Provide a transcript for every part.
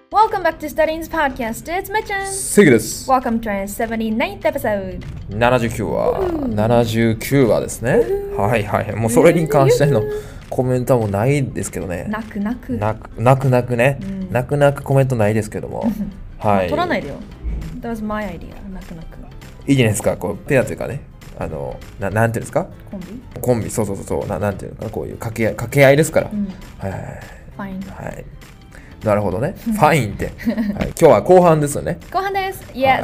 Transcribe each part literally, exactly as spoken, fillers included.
Welcome back to Studying's podcast. It's Mitchin. セグです。 Welcome to our seventy-ninth episode. ななじゅうきゅう話。ななじゅうきゅう話ですね。はいはい。もうそれに関してのコメントはもうないですけどね。 泣く泣く。 泣く泣く泣くね。泣く泣くコメントないですけども。はい。 取らないでよ。That was my idea. 泣く泣く。 いいじゃないですか。こうペアというかね。あのななんていうんですか。 コンビ。 コンビそうそうそうそう。ななんていうのかな、こういう掛け合い掛け合いですから。 うん、 はいはいはい。 Fine. はい。なるほどね。ファインって、はい。今日は後半ですよね。 後半です。Yes.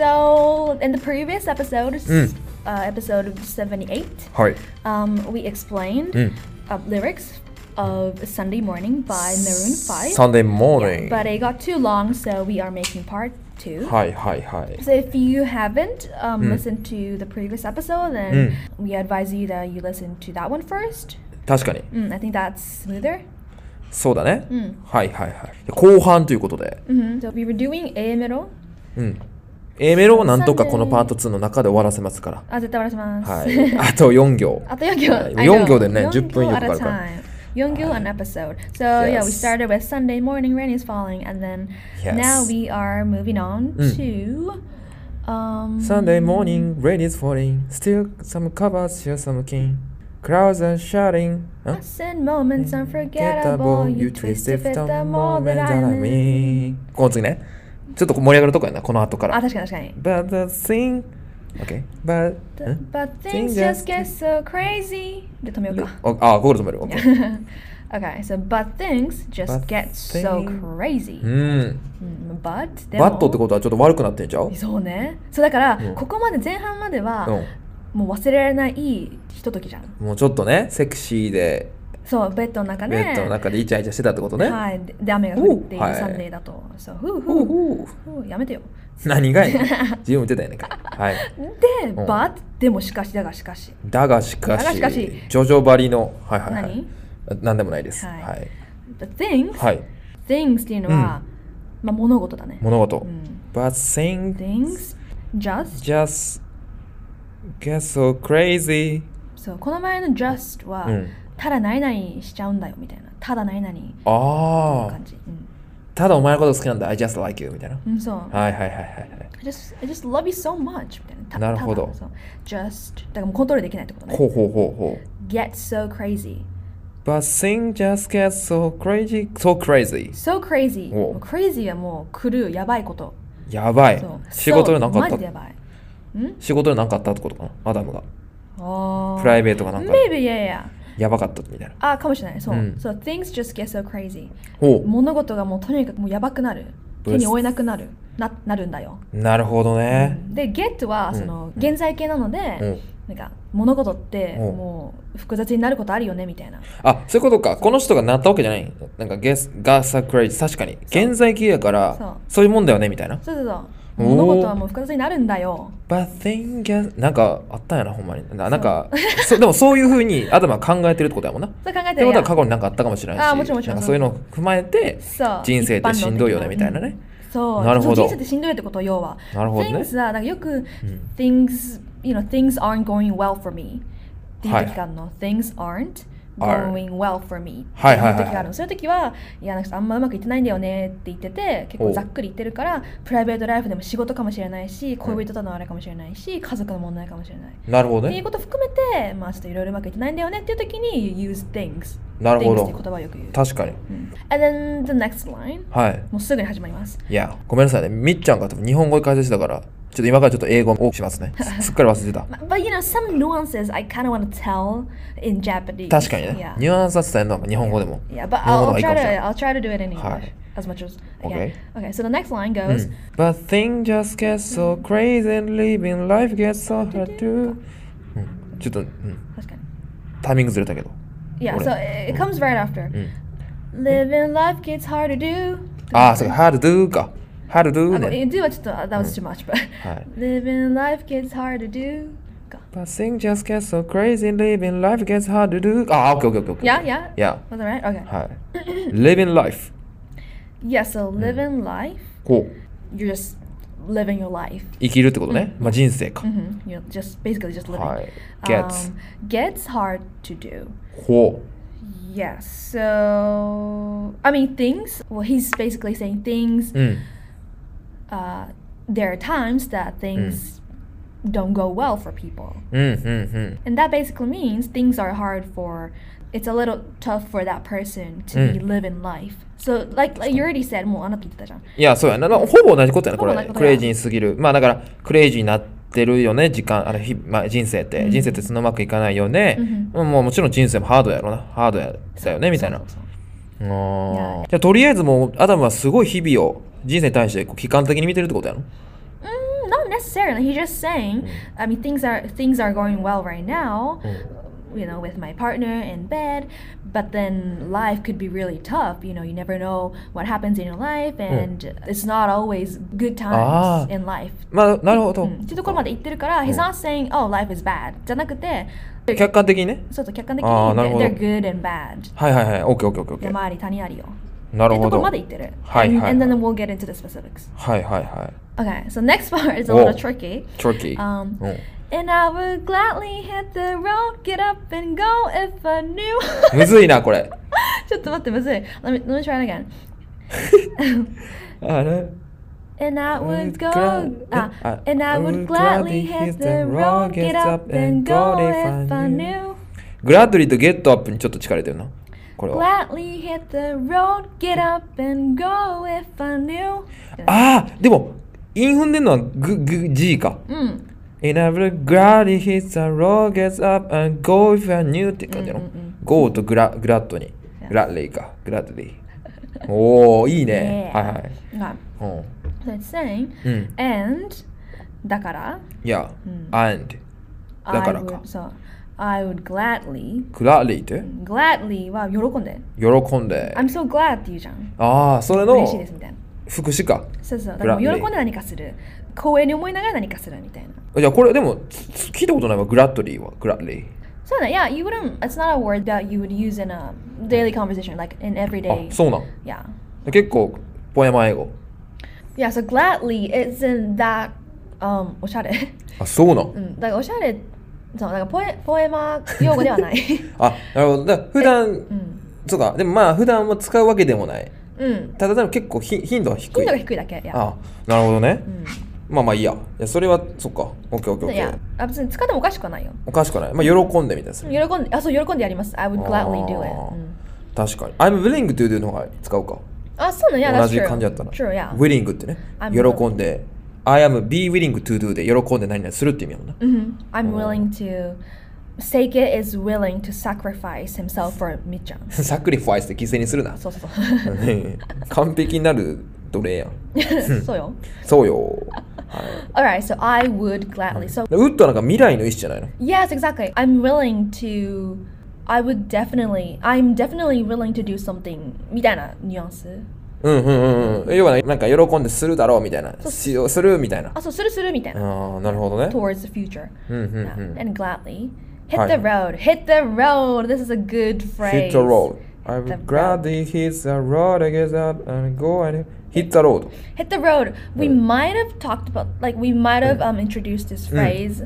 So in the previous episode, うん、 uh, episode seventy-eight, はい。 um, we explained、 うん、 uh, lyrics of Sunday Morning by Maroon five. Sunday Morning. Yeah, but it got too long, so we are making part two. はいはいはい。 So if you haven't um, うん、 listened to the previous episode, う then ん、 we advise you that you listen to that one first. 確かに。 Mm, I think that's smoother. そうだね。 うん、 はいはいはい。後半ということで。 Mm-hmm. So we were doing A メロ。 うん。A メロをなんとかこのパートツーの中で終わらせますから。 あ、絶対終わらせます。 はい。あとよん行。 あとよん行。 はい、よん行でね、じゅっぷん以上かかるから。 よん行 an episode. So yeah, we started with Sunday morning, rain is falling, and then now we are moving on to um, Sunday morning, rain is falling, still some covers, still some king. Clouds are shouting. Us and moments unforgettable. You twist if it's the moment I'm in. この次ね。ちょっと盛り上がるとこやな、この後から。 あ、確かに確かに。 But the thing, okay, but, but things just get so crazy. で止めようか。 あ、ここで止める。Okay. Okay, so but things just get so crazy. うん。 But バットってことはちょっと悪くなってんちゃう？ そうね。そうだから、ここまで前半までは、もう忘れられないひとときじゃん。 もうちょっとね、セクシーで。 そう、ベッドの中で。 ベッドの中でイチャイチャしてたってことね。 はい。で、雨が降っているサンデーだと。そう、ふうふうふう。やめてよ。 何がいい自分言ってたよね。はい。 で、but でもしかしだがしかし。 だがしかし。 だがしかし。 ジョジョバリの。はいはいはい。 何？ なんでもないです。はい。 The things、 はい、 things っていうのは、まあ物事だね。 物事。But things just just get so crazy. そう、この前の just は、ただ何々しちゃうんだよみたいな。ただ何々。 ああ。 感じ。 ただお前のこと好きなんだ。I just like you みたいな。 うん、そう。 はいはいはいはい。 I just, I just love you so much みたいな。 なるほど。 just だからもうコントロールできないってことね。 ほうほうほうほう。Get so crazy.But things just get so crazy, so crazy. So crazy. Crazy はもう狂う、やばいこと。 やばい。仕事で何かあった。 マジでやばい。ん？ 仕事で何かあったってことかな、アダムが。 ああ。 プライベートがなんか。 Maybe, yeah, yeah. やばかったみたいな。 あ、かもしれない。そう。So things just get so crazy. ほう。 物事がもうとにかくもうやばくなる。手に負えなくなる。な、なるんだよ。 なるほどね。 で、get はその現在形なので、なんか物事ってもう複雑になることあるよねみたいな。 あ、そういうことか。この人がなったわけじゃない。なんか guess got so crazy。確かに現在形やからそういうもんだよねみたいな。 そうそうそう。物事はもう複雑になるんだよ。 But thing get なんかあったんやなほんまに。なんかそでもそういう風にアダムは考えてるってことやもんな。 そう考えてる。 ってことは過去になんかあったかもしれないし。 あ、もちろんもちろん。 なんかそういうのを踏まえて人生ってしんどいよねみたいなね。 そう。 なるほど。 人生ってしんどいってこと要は。 なるほどね。 Things はなんかよく things you know things aren't going well for me っていう時があるの。Things aren't going well for me っていう時があるの。そういう時はいやなんかあんまうまくいってないんだよねって言ってて結構ざっくり言ってるからプライベートライフでも仕事かもしれないし恋人とのあれかもしれないし家族の問題かもしれない。 なるほどね。 っていうこと含めてまあちょっといろいろうまくいってないんだよねっていう時に use things。 なるほど。 things って言葉をよく言う。 確かに。 And then the next line。 はい。 もうすぐに始まります。 いやごめんなさいね。みっちゃんが多分日本語で解説したから。ちょっと今からちょっと英語をしますね。すっかり忘れてた。 But you know, some nuances I kind of want to tell in Japanese. 確かにね。ニュアンスは伝えるのは日本語でも。 Yeah, but I'll try to, I'll try to do it in English as much as I can. Okay, so the next line goes. But things just get so crazy and living life gets so hard to. ちょっと、確かに。タイミングずれたけど。 Yeah, so it comes right after. Living life gets hard to do. ああ、そうか、hard to do か。How to do ね。 do はちょっと、that was too much, but living life gets hard to do. But things just get so crazy, living life gets hard to do. あ、OK, OK, OK. Yeah, yeah. Yeah. Was that right? Okay. はい。living life. Yeah, so living life. こう。You're just living your life. 生きるってことね。まあ人生か。 You're just basically just living. はい。gets. Gets hard to do. ほう。 Yes. So, I mean, things. Well, he's basically saying things. うん Uh, there are times that things don't go well for people. うんうんうん And that basically means things are hard for, it's a little tough for that person to be living life. So, like, like you already said, もうあなた言ってたじゃん。 いやそうやなほぼ同じことやなこほぼ同じことやれクレイジーすぎるまあだからクレイジーになってるよね時間あの日、まあ、人生って、 うん人生ってそんなうまくいかないよね、 うんもうもちろん人生もハードやろなハードやだよねみたいなそうそうそうあーいやじゃあとりあえずもうアダムはすごい日々を人生に対してこう悲観的に見てるってことやろ Mm, not necessarily. He's just saying, I mean, things are things are going well right now, you know, with my partner in bed. But then life could be really tough. You know, you never know what happens in your life, and it's not always good times Ah. in life. まあなるほど、 うんっていうところまで言ってるから、he's not saying, oh, life is bad. じゃなくて、 客観的にねそうそう客観的にあーなる they're ほど they're good and bad. はいはいはいオッケーオッケーオッケーオッケー山あり谷ありよ。 なるほどっていうところまで言ってる。 はいはいはい And, and then we'll get into the specifics. はいはいはい Okay, so next part is a お little tricky. トリキー、 Um, うん And I would gladly hit the road, get up and go if I knew. むずいなこれちょっと待ってむずい。Let me, let me try it again. あれ And I would go, Glad- ah, I- and I I would would gladly gladly hit hit the the road, road, get get up up and and go go if if I I knew. グラッドリーとゲットアップにちょっと力入れてるなこれは Gladly hit the road, get up and go if I knew. ああでもイン踏んでんのはググ G かうん。 And I would gladly hit the road, get up and go if I knew って感じやろ、 うんうんうん Go とグラグラッドにグラッドリーかグラッドリーおおいいね、 Yeah. はいはい、 Okay. うん So it's saying, うん and だから、 いや、 うん and だから I か would, そう I would gladly グラッリーって gladly は喜んで喜んで I'm so glad って言うじゃんああそれの嬉しいですみたいな副詞かそうそうだからもう gladly 喜んで何かする光栄に思いながら何かするみたいなじゃあこれでもつ聞いたことないわグラッドリーはグラッリーそうだ Yeah, you wouldn't It's not a word that you would use in a daily conversation Like in everyday あそうなん Yeah 結構ポエマ英語 Yeah, so gladly isn't that um おしゃれあそうなんうんだからおしゃれそうだからポエポエマ用語ではないあなるほどだから普段うんそうかでもまあ普段は使うわけでもないうんただでも結構ひ頻度は低い頻度が低いだけ Yeah あなるほどね、 うんまあまあいいやいやそれはそっかオッケーオッケーオッいやケーあ別に使ってもおかしくはないよおかしくないまあ喜んでみたいなする喜んであそう喜んでやります I would gladly do it あーうん確かに I'm willing to do の方が使うかあそうね Yeah, 同 that's じ true 感じだったら True, yeah willing ってね I'm 喜んで I am be willing to do で喜んで何々するって意味やもんな Mhm. I'm willing to Seike is willing to sacrifice himself for みっちゃんサクリファイスで犠牲にするなそうそうそう完璧になる奴隷やんそうよそうよ、は Alright, so I would gladly So い、ウッドはなんか未来の意思じゃないの yes, exactly I'm willing to I would definitely I'm definitely willing to do something みたいなニュアンスうんうんうんうん要はなんか喜んでするだろうみたいなしようするみたいなあそうするするみたいなああなるほどね Towards the future うんうんう Yeah. ん And gladly Hit はい the road Hit the road This is a good phrase Hit the road I the would gladly hit the road I get up and go and hit the road Hit the road. We might have talked about, like, we might have um, introduced this phrase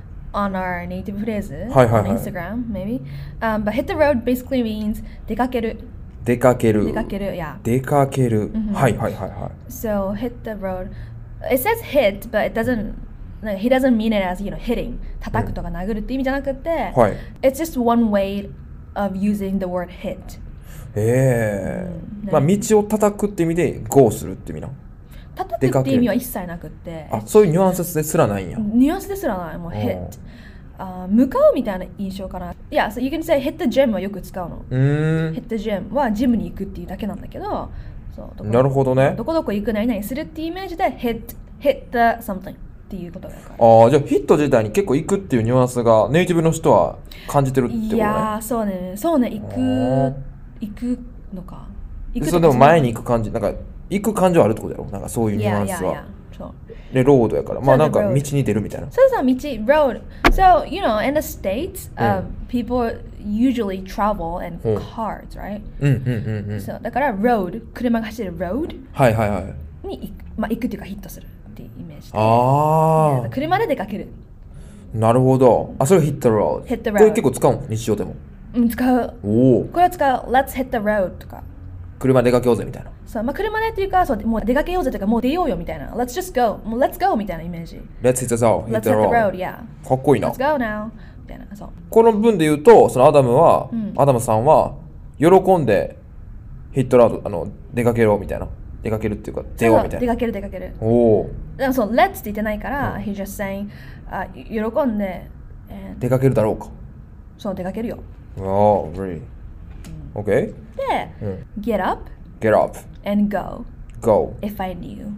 on our native phrase Hi, hi, on hi. Instagram, maybe. Um, but hit the road basically means 出かける。 出かける出かける yeah. 出かける、はいはいはいはい So hit the road. It says hit, but it doesn't, like, he doesn't mean it as, you know, hitting. 叩くとか殴るって意味じゃなくて、 はい It's just one way of using the word hit. ええうんまあ道を叩くって意味で go するって意味な叩くって意味は一切なくって、 あそういうニュアンスですらないんやニュアンスですらない、もう hit。あ向かうみたいな印象かな。いや、so you can say hit the gym はよく使うの。 うーん hit the gym はジムに行くっていうだけなんだけど、そうどこなるほどねどこどこ行く何々するっていうイメージで hit, hit the something っていうことだから。 ああじゃあヒット自体に結構行くっていうニュアンスがネイティブの人は感じてるってことねいやー、そうね、そうね、行く、 ー行くのか。行くでそれでも前に行く感じなんか行く感情あるってことだろなんかそういうニュアンスいやいやいやはそう。 でロードやからまあなんか road 道に出るみたいなそうそう、道、road. So, you know, in the States,、um, うん people usually travel in うん cars, right? うんうんうんうんそうだから road 車が走る road はいはいはいに行く、まあ、行くっていうかヒットするっていうイメージでああ車で出かけるなるほどあそれヒットロード Hit the road これ結構使うの日常でもうん、使う。 おこれは使う Let's hit the road とか。 車出かけようぜみたいな。 そう、まあ、車でっていうか、そう、もう出かけようぜとか、もう出ようよみたいな。Let's just go. もう Let's go みたいなイメージ。 Let's hit the road. Let's hit the road, yeah. かっこいいな。 Let's go now. みたいな。そう。 この文で言うと、そのアダムは、 うん、 アダムさんは喜んでヒットラウド、あの出かけろみたいな。出かけるっていうか、出ようみたいな。 出かける出かける。 おお。 でもそう、Let's って言ってないから、うん、He's just saying、あ、喜んで、 出かけるだろうか。 そう、出かけるよ。 Oh, really? Okay. で、 うん、 get up, get up, and go. Go. If I knew.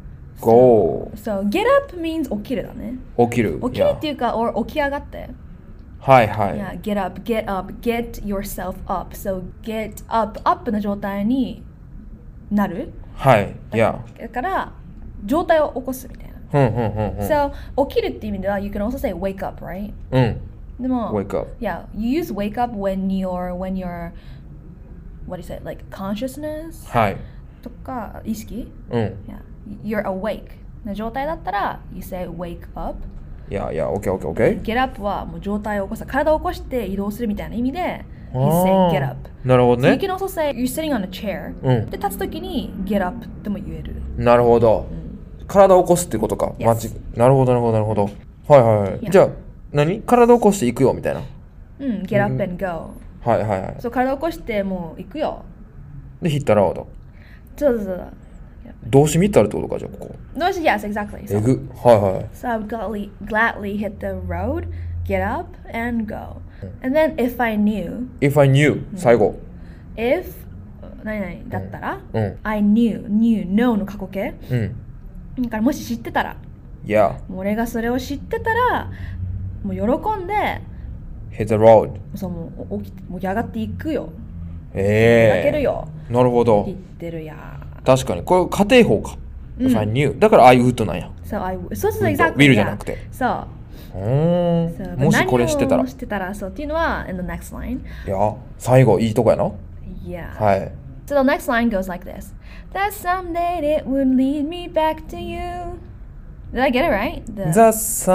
Go. So, so get up means 起きるだね。 起きる。 起きるっていうか、or 起き上がって。 はいはい。 Yeah, get up, get up, get yourself up. So, get up, up の状態になる。 はい。Yeah. だから、状態を起こすみたいな。 うんうんうんうん。 So, 起きるっていう意味では、you can also say wake up, right? うん。 でも、 wake up. Yeah, you use wake up when you're, when you're, what do you say, like consciousness? はい。 とか、意識？ うん。 Yeah, you're awake の状態だったら、you say wake up. Yeah, yeah, okay, okay, okay. Get up はもう状態を起こす、体を起こして移動するみたいな意味で、he's saying get up. なるほどね。 So you can also say, you're sitting on a chair. うん。 で、立つときに get up っても言える。 なるほど。 うん、 体を起こすってことか。 Yes. マジ。なるほど、なるほど、なるほど。はいはいはい。 Yeah. じゃあ、何？体を起こしていくよみたいな。 うん、get up and go. はいはいはい。 そう、体を起こしてもう行くよ。 で、ヒットラウド。 そうそうそう。 動詞見たらってことか、じゃあここ。 動詞、yes, exactly. えぐ。はいはい。 So I would gladly, gladly hit the road, get up, and go. And then if I knew. If I knew. 最後。 If 何々だったら、 うん、 I knew, knew, know の過去形。 うん。 だからもし知ってたら。 Yeah. もう俺がそれを知ってたら、もう喜んで。 Hit the road. そう、もう起きて、もう上がっていくよ。 ええー。 出かけるよ。 なるほど。 言ってるや。 確かに。これ家庭法か。 うん、 If I knew. だから I would なんや。 そう、I would. そうそう、exactly. will じゃなくて。 そう。 うーん。もしこれ知ってたら。 知ってたら、そうっていうのは、in the next line. いや、最後いいとこやな。 Yeah. はい。 So the next line goes like this. That someday it would lead me back to you. Did I get it right? The... That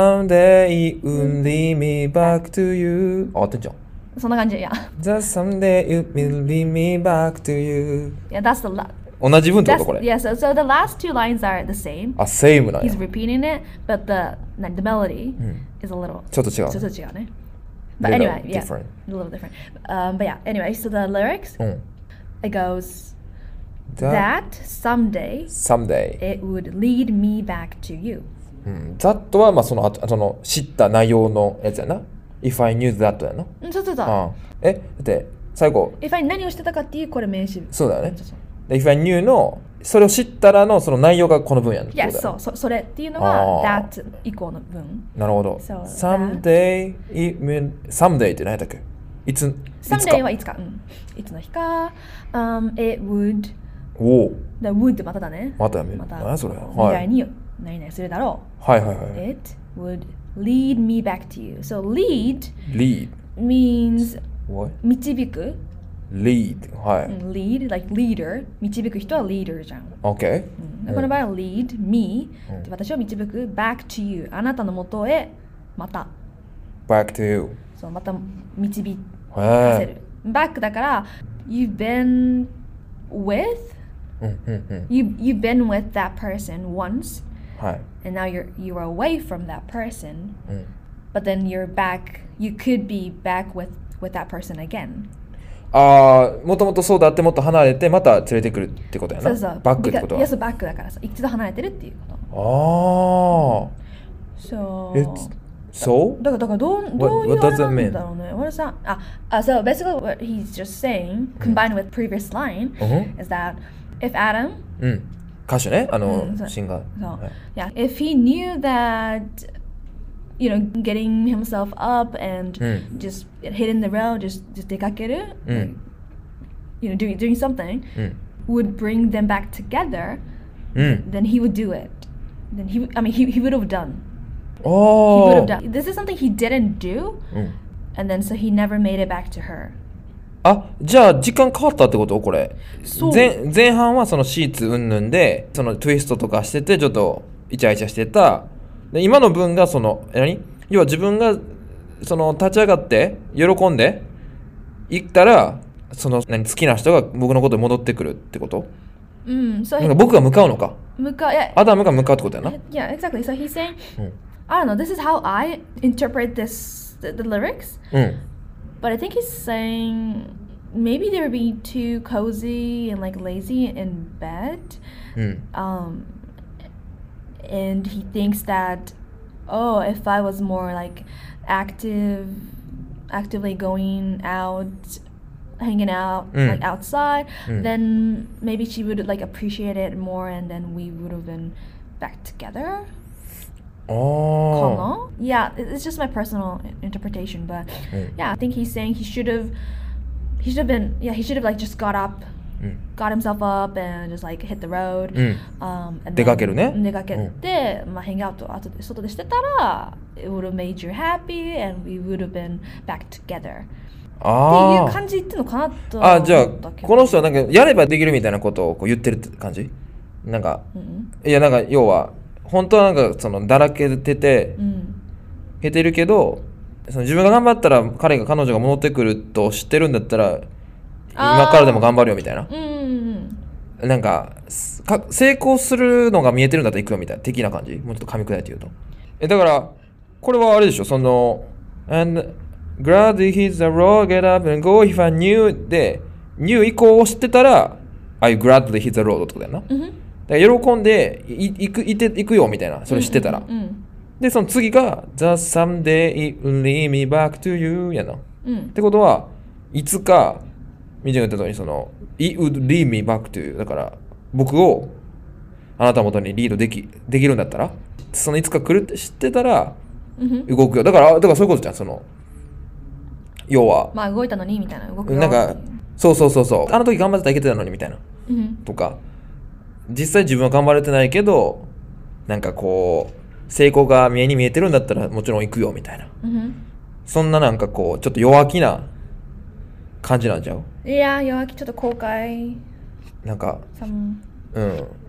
someday it would lead me back to you. あ、合ってんじゃん。 そんな感じ、yeah. That someday it will lead me back to you. Yeah, that's the last. 同じ文ってことこれ。 Yeah, so, so the last two lines are the same. あ、same なんや。 He's repeating it, but the, the melody、うん、is a little. ちょっと違う。 ちょっと違うね。But anyway, yeah, different. A little different. Um, but yeah, anyway, so the lyrics, うん、it goes that, that someday, someday it would lead me back to you. うん、that はまあそのその知った内容のやつやな。If I knew that やな。 うん、そうそうそう。 ああえ、だって最後。 If I 何をしてたかっていうこれ名詞。 そうだよね。そうそうIf I knew のそれを知ったらのその内容がこの文やん。 いや、そう、そそれっていうのは that 以降の文。 なるほど。So, someday, it mean, someday って何だっけ？いつ、 someday はいつか。うん。いつの日か。Um, it would. おお。 The would ってまただね。 またやめ。 また。 何それ？ 未来に何々するだろう。はいはいはい。 It would lead me back to you. So lead. Lead. Means. What? 導く。 lead はい、 うん、lead like leader 導く人は leader じゃん OK、 うん、この場合は lead me、うん、私を導く back to you あなたの元へまた back to you そうまた導かせる back だから you've been with、 うんうんうん、 you, you've been with that person once、 はい、 and now you're, you're away from that person、 うん、 but then you're back you could be back with, with that person again ああ、もともとそうだってもっと離れてまた連れてくるってことやな。 そうそう。 バックってことは。 いや、そうバックだからさ、一度離れてるっていうこと。 ああ。 そう。 そう？ だからだからどうどういうあれなんだろうね。What is that? あ、あ、so basically what he's just saying, combined with previous line, is that if Adam, うん、歌手ね、あのシンガー。 そう。Yeah, if he knew that.You know, getting himself up and mm. just hitting the road, just just 出かける、 mm. you know, doing doing something mm. would bring them back together. Mm. Then he would do it. Then he, I mean, he he would have done. Oh. He would have done. This is something he didn't do, mm. and then so he never made it back to her. あ、じゃあ時間変わったってことこれ。前前半はそのシーツ云々でそのツイストとかしててちょっとイチャイチャしてた。で今の文がその何要は自分がその立ち上がって喜んで行ったらその何好きな人が僕のことに戻ってくるってこと？ うん、so なんか僕が向かうのか。 向かう、yeah, アダムが向かうってことやな。 Yeah, exactly. So he's saying, うん、 I don't know, this is how I interpret this, the, the lyrics. うん。 But I think he's saying maybe they were being too cozy and like lazy in bed. うん。 Um, and he thinks that, oh, if I was more like active, actively going out, hanging out, Mm. like outside, Mm. then maybe she would like appreciate it more, and then we would have been back together. ああ。 Kano? Yeah, it- it's just my personal i- interpretation, but うん。 yeah, I think he's saying he should have, he should have been, yeah, he should have like just got up, うん。 got himself up, and just like hit the road. うん。 Um, and 出かけるね。 then 出かけて、まあ、hang out 後で外でしてたら it would have made you happy and we would have been back together っていうあ感じ言ってんのかなとあ。あ、じゃあ思ったけどこの人はなんかやればできるみたいなことをこう言ってるって感じ？なんか、 うんいやなんか要は本当はなんかそのだらけててうんへてるけど、その自分が頑張ったら彼が彼女が戻ってくると知ってるんだったら今からでも頑張るよみたいな。 うんうんなんかすか成功するのが見えてるんだったら行くよみたいな的な感じ。もうちょっと噛み砕いて言うと。えだからこれはあれでしょ、その and glad he's the road get up and go if I knew で knew 以降を知ってたら I gladly hit the road ってことやな。 うんだから喜んでい行く行って行くよみたいな、それ知ってたら。 うんうんでその次が The someday it will lead me back to you やな。っうんてことはいつかみちゃんが言った通りその It would lead me back to you だから僕をあなたの元にリードできできるんだったらそのいつか来るって知ってたらうん動くよ。だからだからそういうことじゃん。その要はまあ動いたのにみたいな動くよなんかそうそうそうそうあの時頑張ってたらいけてたのにみたいなうんとか実際自分は頑張れてないけどなんかこう成功が見えに見えてるんだったらもちろん行くよみたいな、 うんそんななんかこうちょっと弱気な感じなんちゃう？ いや弱気ちょっと後悔なんか some うん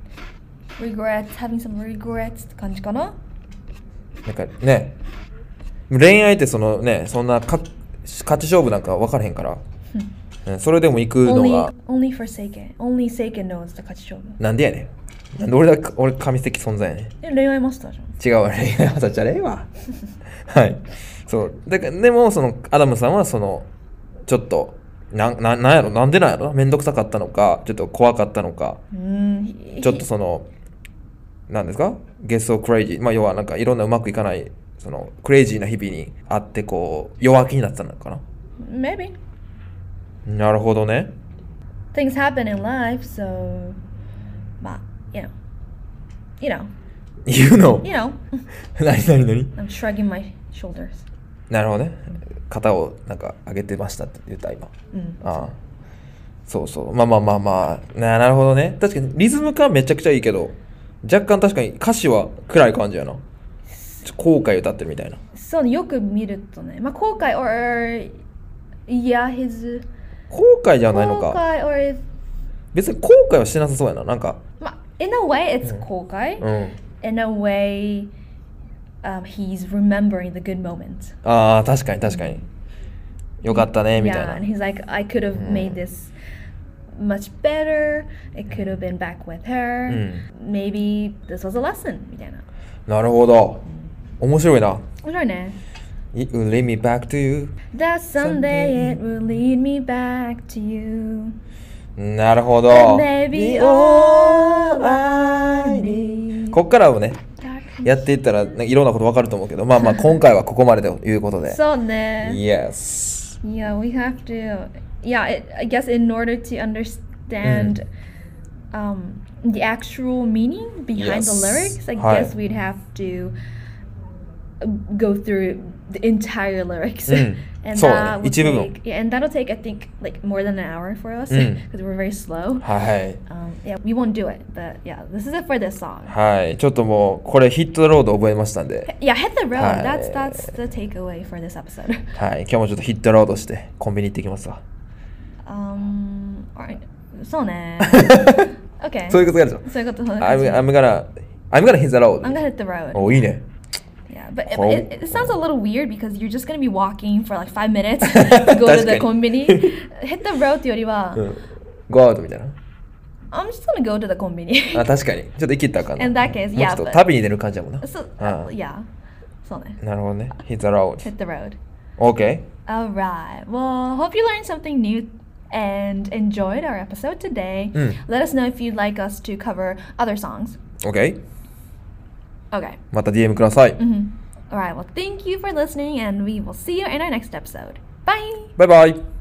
regrets having some regrets って感じかな。 なんかね恋愛ってそのねそんなか勝ち勝負なんか分からへんから、うん、それでも行くの only が only for sake only sake knows って勝ち勝負。 なんでやねん。なんで俺だ俺神的存在やねん。 え恋愛マスターじゃん。 違うわね。あたちゃれえわ。はい。そうだからでもそのアダムさんはそのちょっとなななんやろなんでなんやろめんどくさかったのかちょっと怖かったのかうんちょっとそのなんですか get so crazy まあ要はなんかいろんなうまくいかないそのクレイジーな日々にあってこう弱気になってたのかな。 maybe なるほどね。 things happen in life so まあ you know you know You know you know 何何何 I'm shrugging my shoulders なるほどね。肩をなんか上げてましたって言った今。 うんああそうそうまあまあまあまあななるほどね。確かにリズム感めちゃくちゃいいけど若干確かに歌詞は暗い感じやな。ちょ後悔歌ってるみたいな。 そうねよく見るとねまあ後悔 or yeah his 後悔じゃないの後か。 悔 or 別に後悔はしてなさそうやな。なんかまあ in a way it's 後悔、 うん in a way um, he's remembering the good moments ああ確かに確かによかったねみたい yeah な。 and he's like I could have made this much better it could have been back with her、maybe this was a lesson みたいな。 なるほど。面白いな。 面白いね。 It will lead me back to you That someday it will lead me back to you なるほど。 Maybe all I need こっからをねやっていったら、ね、いろんなことわかると思うけどまあまあ今回はここまでということでそうね。 Yes Yeah, we have to. Yeah, it, I guess in order to understand um, the actual meaning behind the Yes. lyrics, I Hi. guess we'd have to uh, go through the entire lyrics, Mm. and So, that would 一部分。 take, yeah, and that'll take I think like more than an hour for us Mm. because we're very slow. はい Um, yeah, we won't do it, but yeah, this is it for this song. はいちょっともうこれヒットロード覚えましたんで Yeah, hit the road. Hi. That's that's the takeaway for this episode. はい今日もちょっとヒットロードしてコンビニ行ってきますわ Um, alright. そうね。Okay. そういうことやるぞそういうこと。 I'm, I'm gonna I'm gonna hit the road I'm gonna hit the road. おいいね Yeah, but it, it, it sounds a little weird because you're just gonna be walking for like five minutes to go to the コンビニ hit the road ってよりは、うん、 go out みたいな I'm just gonna go to the コンビニあ、確かにちょっと生きたかな In that case, yeah もうちょっと旅に出る感じだもんな so, uh, Yeah そうねなるほどね hit the road hit the road Okay Alright well hope you learned something new and enjoyed our episode today、うん、Let us know if you'd like us to cover other songs Okay Okay また ディーエム ください、 mm-hmm. Alright well thank you for listening and we will see you in our next episode Bye Bye bye